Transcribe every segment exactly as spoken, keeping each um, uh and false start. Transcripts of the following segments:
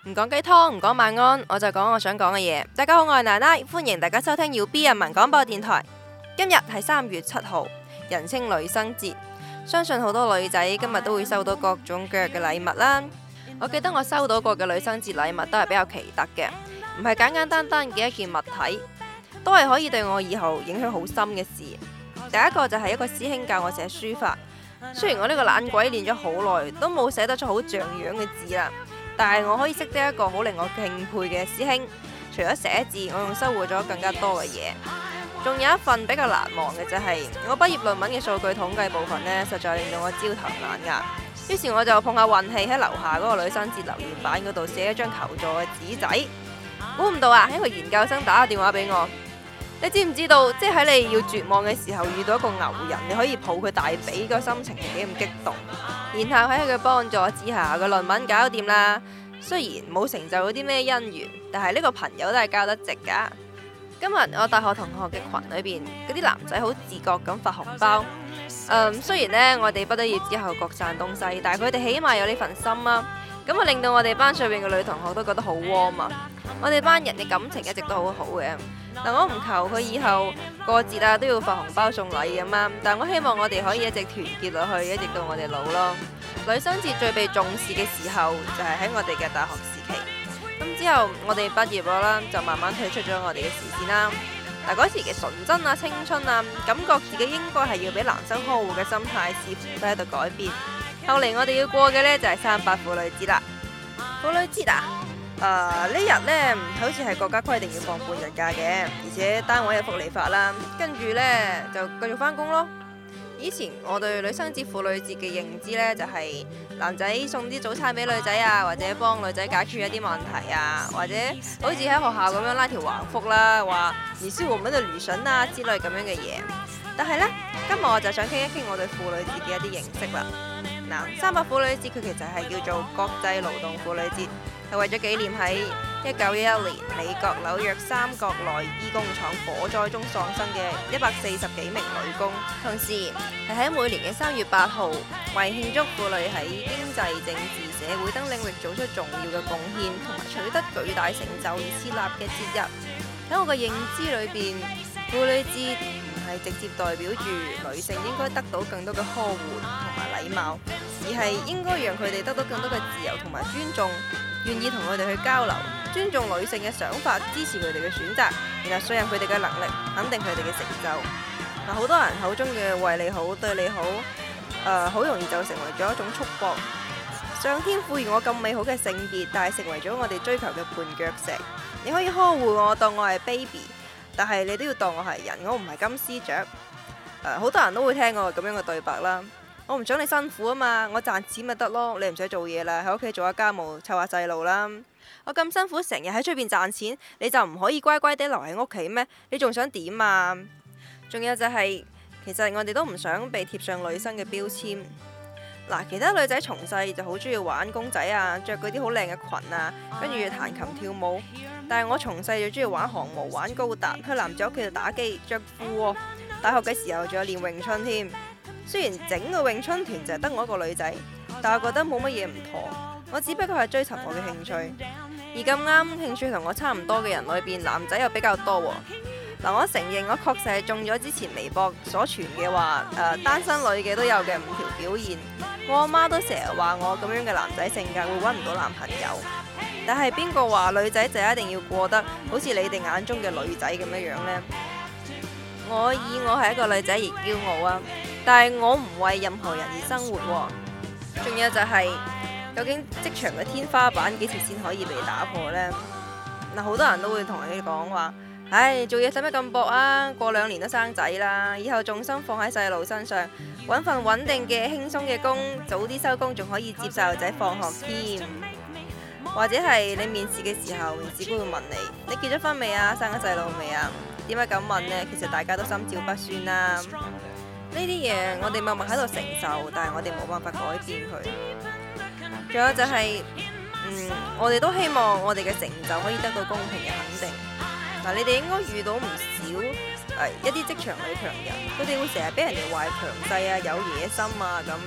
唔講雞湯，唔講晚安，我就講我想講嘅嘢。大家好，我係奶奶，歡迎大家收聽耀 B 人民廣播電台。今日係三月七號，人稱女生節，相信好多女仔今日都會收到各種各樣嘅禮物啦。我記得我收到過嘅女生節禮物都係比較奇特嘅，唔係簡簡單單嘅一件物體，都係可以對我以後影響好深嘅事。第一個就係一個師兄教我寫書法，雖然我呢個懶鬼練咗好耐，都冇寫得出好像樣嘅字啦。但係我可以識得一個好令我敬佩嘅師兄，除咗寫字，我仲收穫咗更加多嘅嘢。仲有一份比較難忘嘅就係、是、我畢業論文嘅數據統計部分呢，實在令到我焦頭爛額。於是我就碰下運氣喺樓下嗰個女生節留言板嗰度寫一張求助嘅紙仔。估唔到啊，一個研究生打個電話俾我。你知唔知道，即係喺你要絕望嘅時候遇到一個牛人，你可以抱佢大髀，個心情係幾咁激動。然後喺佢嘅幫助之下，個論文搞掂啦。雖然冇成就嗰啲咩姻緣，但係呢個朋友都係交得值噶。今日我大學同學嘅群裏邊，嗰啲男仔好自覺咁發紅包。嗯，雖然呢，我哋畢咗業之後各散東西，但係佢哋起碼有呢份心啊。咁啊令到我哋班上邊嘅女同學都覺得好 warm 啊。我哋班人嘅感情一直都好好嘅。嗱，我唔求佢以後過節啊都要發紅包送禮咁啊，但我希望我哋可以一直團結落去，一直到我哋老咯。女生節最被重視嘅時候就係喺我哋嘅大學時期，咁之後我哋畢業咗啦，就慢慢退出咗我哋嘅視線啦。嗱，嗰時嘅純真啊、青春啊，感覺自己應該係要俾男生呵護嘅心態，似乎都喺度改變。後嚟我哋要過嘅呢，就係三八婦女節啦。婦女節啊，誒呢日呢，好似係國家規定要放半日假嘅，而且單位有福利法啦，跟住呢，就繼續返工咯。以前我對女生節、婦女節嘅認知呢，就係男仔送啲早餐俾女仔啊，或者幫女仔解決一啲問題啊，或者好似喺學校咁樣拉條橫幅啦，話你是我們的女神啊之類咁樣嘅嘢。但係呢，今日我就想傾一傾我對婦女節嘅一啲認識啦。嗱，三八婦女節佢其實係叫做國際勞動婦女節，係為咗紀念喺一九一一年美國紐約三角內衣工廠火災中喪生嘅一百四十幾名女工，同時係喺每年嘅三月八號，為慶祝婦女喺經濟、政治、社會等領域做出重要嘅貢獻同埋取得巨大成就而設立嘅節日。喺我嘅認知裏邊，婦女節唔係直接代表住女性應該得到更多嘅呵護同埋禮貌，而係應該讓佢哋得到更多嘅自由同埋尊重，願意同佢哋去交流，尊重女性嘅想法，支持佢哋嘅選擇，然後信任佢哋嘅能力，肯定佢哋嘅成就。嗱，好多人口中嘅為你好、對你好，誒、呃，好容易就成為咗一種束縛。上天賦予我咁美好嘅性別，但係成為咗我哋追求嘅絆腳石。你可以呵護我，當我係 baby， 但係你都要當我係人，我唔係金絲雀。誒、呃，好多人都會聽過咁樣嘅對白啦。我唔想你辛苦啊嘛，我賺錢咪得咯，你唔使做嘢啦，喺屋企做下家務，湊下細路啦。我咁辛苦成日喺出邊賺錢，你就唔可以乖乖地留喺屋企咩？你仲想點啊？仲有就係、是，其實我哋都唔想被貼上女生嘅標籤。嗱，其他女仔從細就好中意玩公仔啊，着嗰啲好靚嘅裙啊，跟住彈琴跳舞。但係我從細就中意玩航模、玩高達，去男仔屋企度打機、着褲喎。大學嘅時候仲有練詠春添。雖然整個詠春團就係得我一個女仔，但我覺得冇乜嘢唔妥。我只不過係追尋我嘅興趣，而咁啱興趣同我差唔多嘅人裏邊，男仔又比較多喎。嗱，我承認我確實係中咗之前微博所傳嘅話，誒、呃、單身女嘅都有嘅五條表現。我阿媽都成日話我咁樣嘅男仔性格會揾唔到男朋友。但係邊個話女仔就一定要過得好似你哋眼中嘅女仔咁樣樣呢？我以我係一個女仔而驕傲啊！但係我唔為任何人而生活喎。仲有就係、是，究竟職場嘅天花板幾時先可以被打破呢？嗱，好多人都會同你講話，唉，做嘢使乜咁搏啊？過兩年都生仔啦，以後重心放喺細路身上，揾份穩定嘅輕鬆嘅工，早啲收工，仲可以接細路仔放學添。或者係你面試嘅時候，面試官會問你：你結咗婚未啊？生咗細路未啊？點解咁問呢？其實大家都心照不宣啦。呢啲嘢我哋默默喺度承受，但係我哋冇辦法改變佢。仲有就係、是，嗯，我哋都希望我哋嘅成就可以得到公平嘅肯定。嗱，你哋應該遇到唔少誒、呃、一啲職場女強人，佢哋會成日俾人哋話強勢啊、有野心啊咁。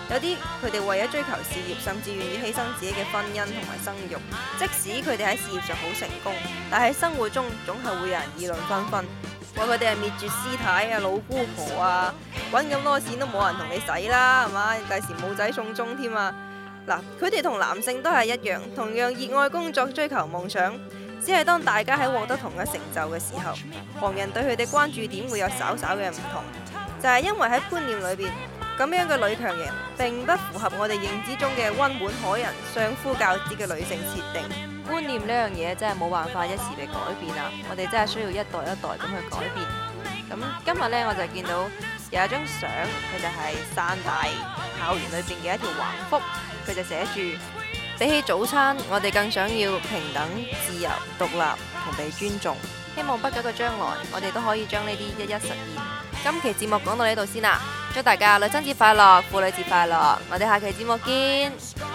有啲佢哋為咗追求事業，甚至願意犧牲自己嘅婚姻同埋生育。即使佢哋喺事業上好成功，但喺生活中總係會有人議論紛紛，話佢哋係滅絕師太啊、老姑婆啊，揾咁多錢都冇人同你使啦，係嘛？第時冇仔送終添啊！嗱，佢哋同男性都係一樣，同樣熱愛工作、追求夢想，只係當大家喺獲得同一成就嘅時候，旁人對佢哋關注點會有稍稍嘅唔同，就係因為喺觀念裏邊，咁樣嘅女強人並不符合我哋認知中嘅溫婉可人、相夫教子嘅女性設定。觀念呢樣嘢真係冇辦法一時被改變啊！我哋真係需要一代一代咁去改變。咁今日呢，我就見到有一張相，佢就係汕大校園裏邊嘅一條橫幅，佢就寫住：比起早餐，我哋更想要平等、自由、獨立同被尊重。希望不久嘅將來，我哋都可以將呢啲一一實現。今期節目講到呢度先啦，祝大家女親節快樂，婦女節快樂，我哋下期節目見。